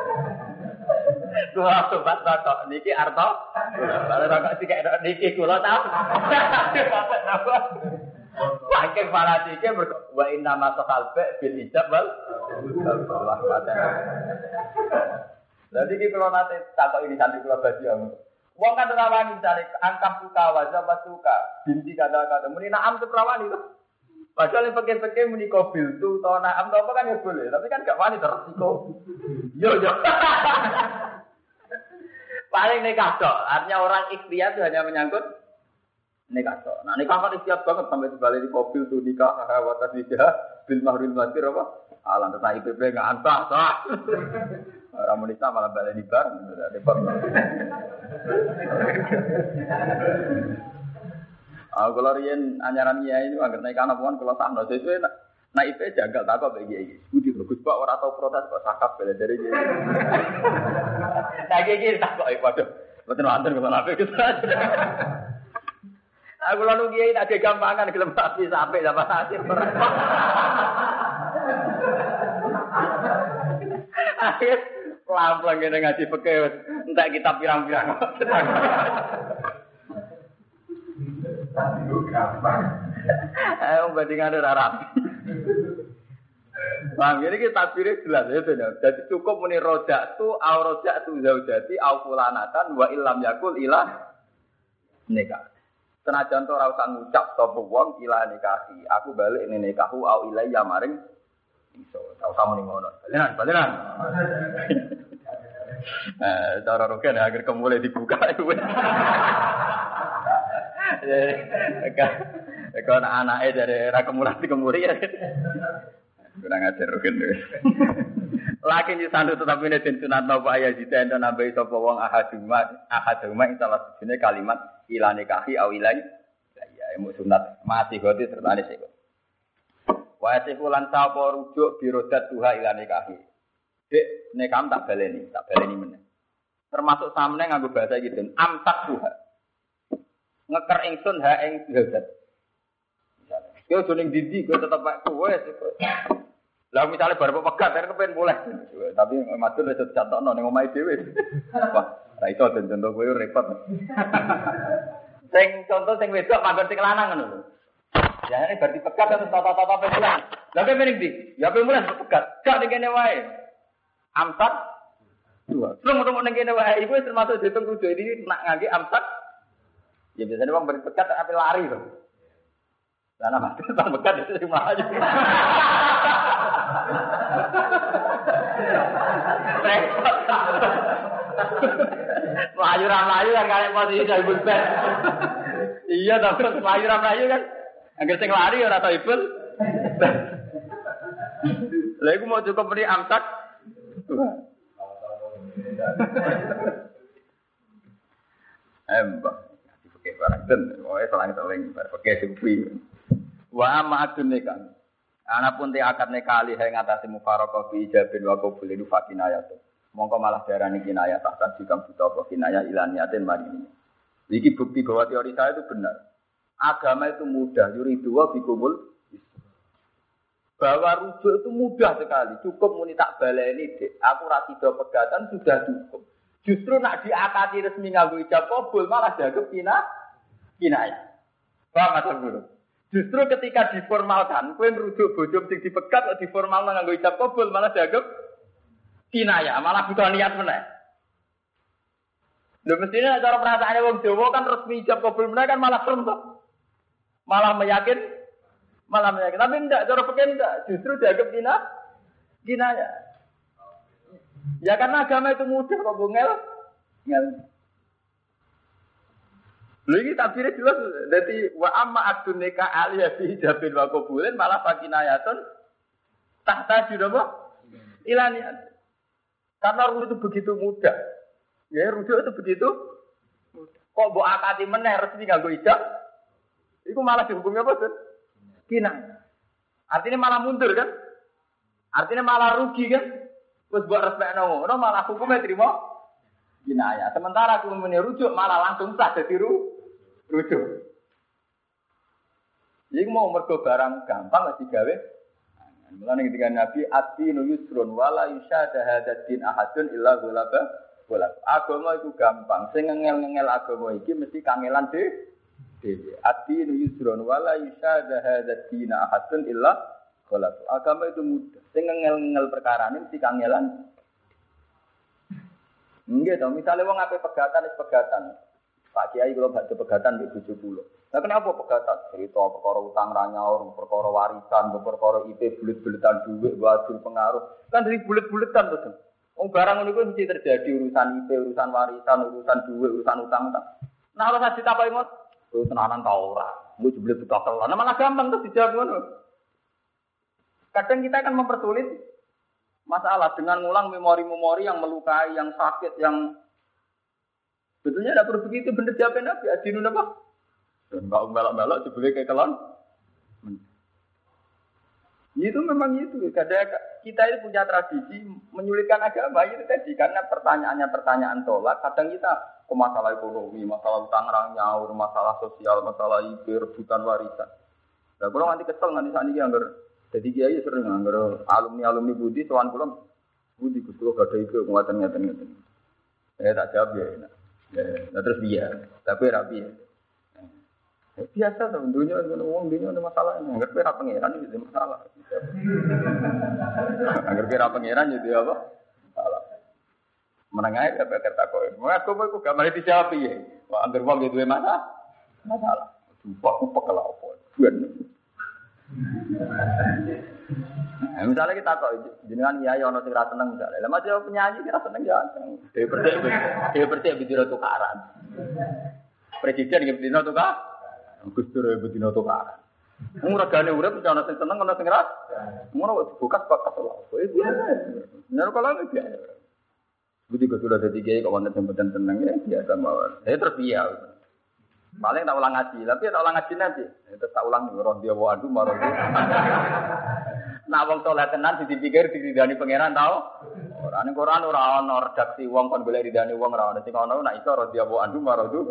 B: Kula tumbas rokok niki arto. Lah rokok sik niki kula tapi. Saking fanatike wa inna ma saqalba bil ijab wal Allah padha. Dadi iki kula nate takok ini santri kula badiang. Wong kan ora wani cari angkap suka wajah suka binti kata-kata muni naam tu prawani to. Padahal yang pakai-pakai muni kobil tu to naam to apa kan ya boleh, tapi kan gak wani tersiko. Yo yo. Paling nikah tok, artinya orang ikhtiar itu hanya menyangkut nikah tok. Nah nikah kan siap banget sampai dibalik di mobil tuh nikah watas nikah bil mahrul masir apa? Alam tentang I P P nggak antah sah. Ramonita malah balik di bar, repot. Ah kalau rian anyaran ya ini agar naik anak puan kalau sahno sesuai naik I P jagal tak kok bagi ini. Budi bagus pak orang tahu protes kok sakap bela dari dia. Nah gini tak kok waduh, betul antar kalau nape kita. Aku lalu kiai tak ada gampangan gelem sapi sampai dapat hasil berapa. Akhir pelan-pelan kene ngaji pekewet, entek kita pirang-pirang. Ayo bandingan ora rapi. Bang, ini kita takbirnya jelas ya benar. Jadi cukup muni rojak tu, au rojak tu zaujati, au fulanatan, wa illam yakul ilah nikah. Senajan to ora usah ngucap sapa wong ila nikahi. Aku balik ning nikahu au ilayya maring iso. Ta usah muni ngono. Balenan, balenan. Eh, cara roken agar kemulai dibuka iku. Eh, Eka anake dari ra kemulai dikemuri ya. Kurang ajar roken. Laki di sandu tetapi ini den sunat napa ayat jita enten nambahi sapa wong ahaduma ahaduma ing salah sijine kalimat ila nikahi au ilai ya ya sunat mati goti sertane sik. Wa sifulan sapa rujuk birodat tuha ila nikahi. Dek nekam tak baleni, tak baleni meneh. Termasuk samne nganggo bahasa iki den amtak tuha. Ngeker ingsun ha ing birodat. Yo joning didi kowe tetep kowe. Lah misale bar pegat kan kepen boleh. Tapi matur wis dicatakno ning omahe dhewe. Wah, ra iso den contoh kowe repot. Sing contoh sing wedok manggon sing lanang ngono lho. Ya ini berarti pegat atau tata-tata pemulan. Lah kowe mending ndi? Ya pemulan pegat. Gak ning kene wae. Amsak dua. Terus ketemu ning kene wae iku termasuk ditung rujuk iki nak ngangge amsak. Ya biasanya wong beri pegat ape lari to. Lah ana mati tak pegat itu sing mlayu. Melayu melayu kan kalian posisi dari bulpen. Iya, tapi melayu melayu kan. Agar sing lari ora tau ibul. Lha iku mau cukup beri amsak. Embah, dipakai barang ten, oh selang-seling pakai sufi. Wa ma adunekan. Anapun te akad nekali ha ngatasi mufaraqah bi ijabin wa qabul itu fakinayat. Mongko malah darani kinayah tak jika buta apa kinayah ilaniatin mari ini. Iki bukti bahwa teori saya itu benar. Agama itu mudah, yuridu wa bikumul. Bahwa rujuk itu mudah sekali. Cukup muni tak baleni, Dek. Aku ra sida pegatan sudah cukup. Justru nak diakati resmi nganggo ijab qabul malah dianggap kina kinayah. Paham maksud guru? Justru ketika diformalkan, kowe merujuk bojo sing dipegat kok diformalno nganggo ijab qabul malah dianggap kinayah, malah butuh niat meneh. Lho mestine cara perasaane wong Jawa kan resmi ijab qabul meneh kan malah serem to. Malah meyakin, malah meyakin. Tapi enggak, cara fikih enggak. Justru dianggap kina, kinayah. Ya karena agama itu mudah kok bungel. Ngel. Lha iki tabire jelas dadi wa amma adunika aliyah fi hijabin wa qabulin malah fakinayatun tahta judapa ilaniat. Karena rujuk itu begitu mudah. Ya rujuk itu begitu mudah. Kok mbok akati meneh resmi nganggo ijab? Iku malah dihukumi apa, Bud? Kinayah. Artinya malah mundur kan? Artinya malah rugi kan? Terus buat respek ngono, malah hukumnya terima kinayah. Sementara aku merujuk malah langsung sah jadi ru, rujuk. Jadi mau mergo barang gampang nggak digawe. Mulane ketika Nabi ad-dinu yusrun wala yusyada hadatin ahadun illa ghalaba wala. Agama itu gampang. Sing ngengel-ngengel agama iki mesti kangelan dhewe. Ad-dinu yusrun wala yusyada hadatin ahadun illa ghalaba. Agama itu mudah. Sing ngengel-ngengel perkara ini mesti kangelan. Nggih to, misale wong ape pegatan wis pegatan. Pak Kiai kula badhe pegatan mbek bojo kula. Lah kenapa pegatan? Cerita perkara utang ra nyaur, perkara warisan, perkara I P bulet-buletan dhuwit, wadul pengaruh. Kan dari bulet-buletan to. Wong barang ngono kuwi mesti terjadi urusan I P, urusan warisan, urusan dhuwit, urusan utang-utang. Nah ora usah ditakoki mot. Oh tenanan ta ora. Mbok jebule buta-buta. Nah malah gampang tuh dijawab ngono. Kadang kita akan mempersulit masalah dengan ngulang memori-memori yang melukai, yang sakit, yang betulnya tidak perlu begitu. Benar jawabnya Nabi, adinun apa? Dan enggak melak-melak dibeli kayak kelon. Itu memang itu. Kadang kita itu punya tradisi menyulitkan agama itu tadi karena pertanyaannya pertanyaan tolak. Kadang kita ke masalah ekonomi, masalah utang nyaur, masalah sosial, masalah I P, rebutan warisan. Nah, kalau nanti kesel nanti saat ini anggar. Jadi kiai sering nganggur alumni-alumni budi, soan pulang budi kudu gak ada itu nguatan ngeten ngeten. Eh tak jawab ya, nah terus dia, tapi rapi ya. Eh, biasa tuh, dunia ngomong dunia ada masalah, anggur pera pangeran itu masalah. Anggur pera pangeran itu apa? Masalah. Menengah ya berkata kau, mau aku mau aku gak mau dijawab ya. Wah anggur uang itu mana? Masalah. Sumpah aku pekel apa? Bukan. Nah, misalnya kita kok jenengan kiai ono sing ra seneng misalnya. Lah masih penyanyi kira seneng ya. Dhewe percaya dhewe percaya bidino tukaran. Presiden nggih bidino tukaran. Gus Dur bidino tukaran. Wong regane urip ono sing seneng ono sing ra. Ngono kok bukas bakat lho. Itu biasa. Nek kalau itu biasa. Budi kok sudah dadi kiai kok wonten sing boten seneng ya biasa mawon. Saya terbiasa. Paling tak ulang ngaji, tapi tak ulang ngaji nanti. Terus tak ulang roh dia wa adu marah. Nak wong saleh tenan dipikir diridani pangeran tau. Ora ning Quran ora ana redaksi wong kon golek ridani wong ora ana sing ana nak iso roh dia wa adu marah tu.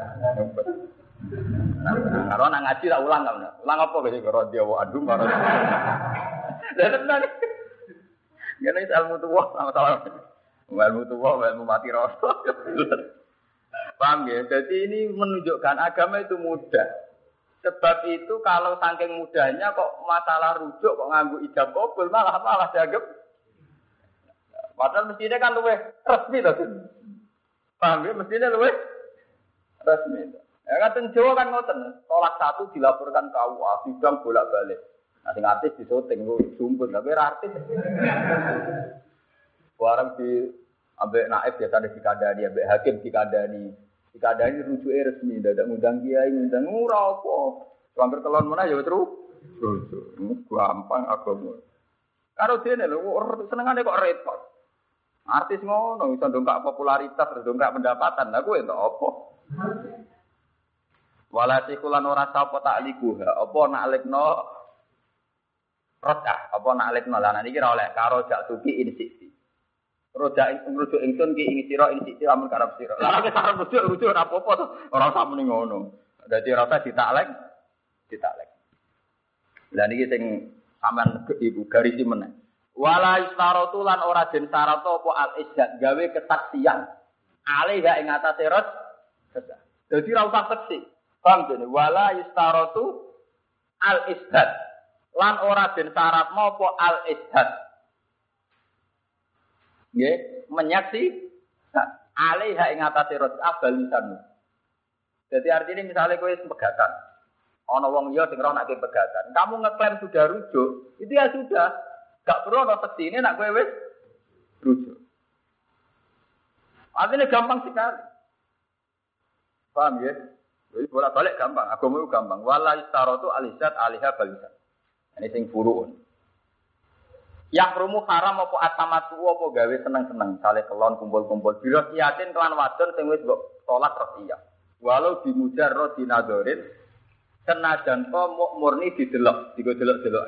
B: Kalau nak ngaji tak ulang kan. Ulang apa guys roh dia wa adu marah. Lah tenan. Ngene ilmu tuwa sama-sama. Ilmu tuwa, ilmu mati rasa. Paham ya? Jadi ini menunjukkan agama itu mudah. Sebab itu kalau saking mudahnya kok masalah rujuk kok nganggu ijab kabul malah malah dianggap. Padahal mestinya kan luwih resmi to. Paham ya? Mestinya luwih resmi. Ya kan Jawa kan ngoten. Tolak satu dilaporkan ke U A, sidang bolak-balik. Nah sing artis disoting sumpun tapi ora artis. Barang di ambek naib biasane dikandani, ambek hakim dikandani. Dikandani rujuke resmi, dadak ngundang kiai, ngundang ora apa. Hampir kelon menah ya terus. Terus gampang agama. Karo dene lho senengane kok repot. Artis ngono iso ndongkak popularitas, ndongkak pendapatan. Lah kowe entuk apa? Wala sikulan ora sapa taklikuha, apa nak lekno rotah, apa nak lekno lan iki ora oleh karo jak tuki insiksi. Roda rujuk ingsun ki ing sira ing sira amun karep sira. Lah nek karep rujuk rujuk ora apa-apa to. Ora usah muni ngono. Dadi ora usah ditaklek, ditaklek. Lah niki sing sampean ibu garis meneh. Wala istaratu lan ora den syarat apa al izzat gawe kesaksian. Ale gak ing atase rot. Dadi ora usah seksi. Paham dene wala istaratu al izzat lan ora den syarat apa al izzat. Nggih, menyaksi alaiha ing atase roj'ah balisan. Jadi artinya misalnya kowe pegatan. Ana wong liya sing roh nek pegatan. Kamu ngeklaim sudah rujuk, itu ya sudah. Gak perlu ana sektine nek kowe wis rujuk. Artinya gampang sekali. Paham ya? Jadi bolak-balik gampang, agama itu gampang. Wala istaratu alizat alaiha balisan. Ini sing furuun. Yang rumu haram apa atamatu apa gawe seneng-seneng sale kelon kumpul-kumpul bila yakin kelan wadon sing wis mbok salat iya. Walau dimujarrad dinadorin senajan to murni didelok, digo delok-delok.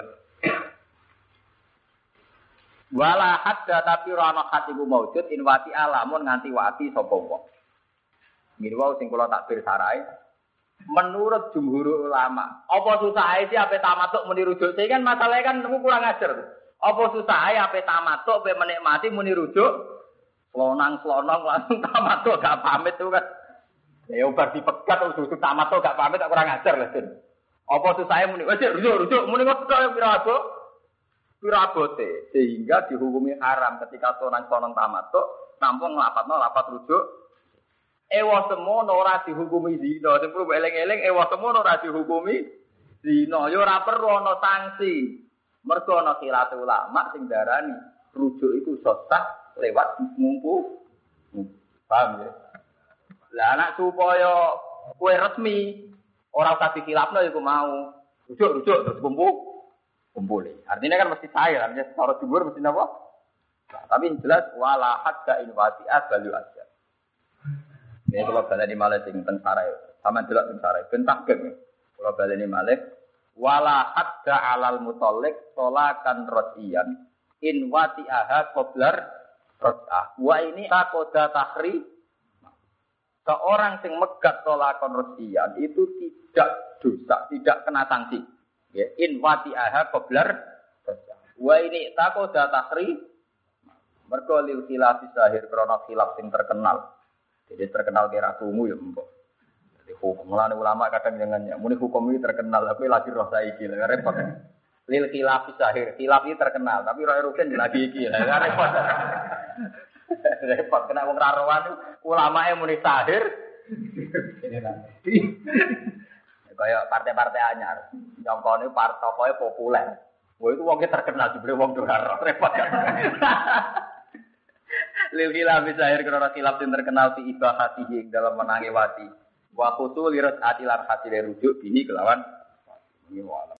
B: Wala hadda tapi ora ana hatiku maujud in wati alamun nganti wati sapa wong. Mirwa sing kula takbir sarai. Menurut jumhur ulama, apa susah ae sih ape tamatuk muni rujuk? Sing kan masalahnya kan nemu kurang ajar. Apa susah ae ape tamatuk ape menikmati muni rujuk? Slonang-slonong langsung tamatuk gak pamit tuh kan. Ya obat dipegat terus tamatuk gak pamit tak kurang ajar lah, Din. Apa susah ae muni wis rujuk-rujuk muni kok pira abot? Pira abote sehingga dihukumi haram ketika slonang-slonong tamatuk nampung nglapatno lapat rujuk. Ewa semono ora dihukumi zina. Sing perlu eling-eling ewa semono ora dihukumi zina. Ya ora perlu ana sanksi. Mergo ana khilaf ulama sing darani rujuk iku sah lewat ngumpu. Paham ya? Lah anak supaya kowe resmi ora usah dikhilafno iku mau. Rujuk-rujuk terus kumpul. Kumpul. Artinya kan mesti saya, artinya cara jumhur mesti napa? Nah, tapi jelas wala hadda in wati'at balu aja. Ya kalau baleni malih sing ten sarai, sampean delok ten sarai, ben takgeng. Kalau baleni malih wala hadda alal mutallik tolakan rodiyan in wati'aha qablar rod'ah. Wa ini takoda tahri. Seorang sing megat tolakon rodiyan itu tidak dosa, tidak kena sanksi. Ya, in wati'aha qablar rod'ah. Wa ini takoda tahri. Mergo lil khilaf zahir krana khilaf sing terkenal. Jadi terkenal kira tunggu ya mbok. Jadi hukum lan ulama kadang jangan ya. Muni hukum ini terkenal tapi lagi roh saiki lha repot. Lil khilaf zahir. Khilaf ini terkenal tapi roh rugen lagi iki lha repot. Repot kena wong ra rohan ulama e muni zahir. Kayak partai-partai anyar. Nyongkone partai tokoe populer. Wah itu wong terkenal dibeli wong dolar repot kan. Lil khilaf zahir karena khilaf yang terkenal fi ibahatihi dalam menangi wati. Wa khusul lirat atilar hati rujuk bihi kelawan ini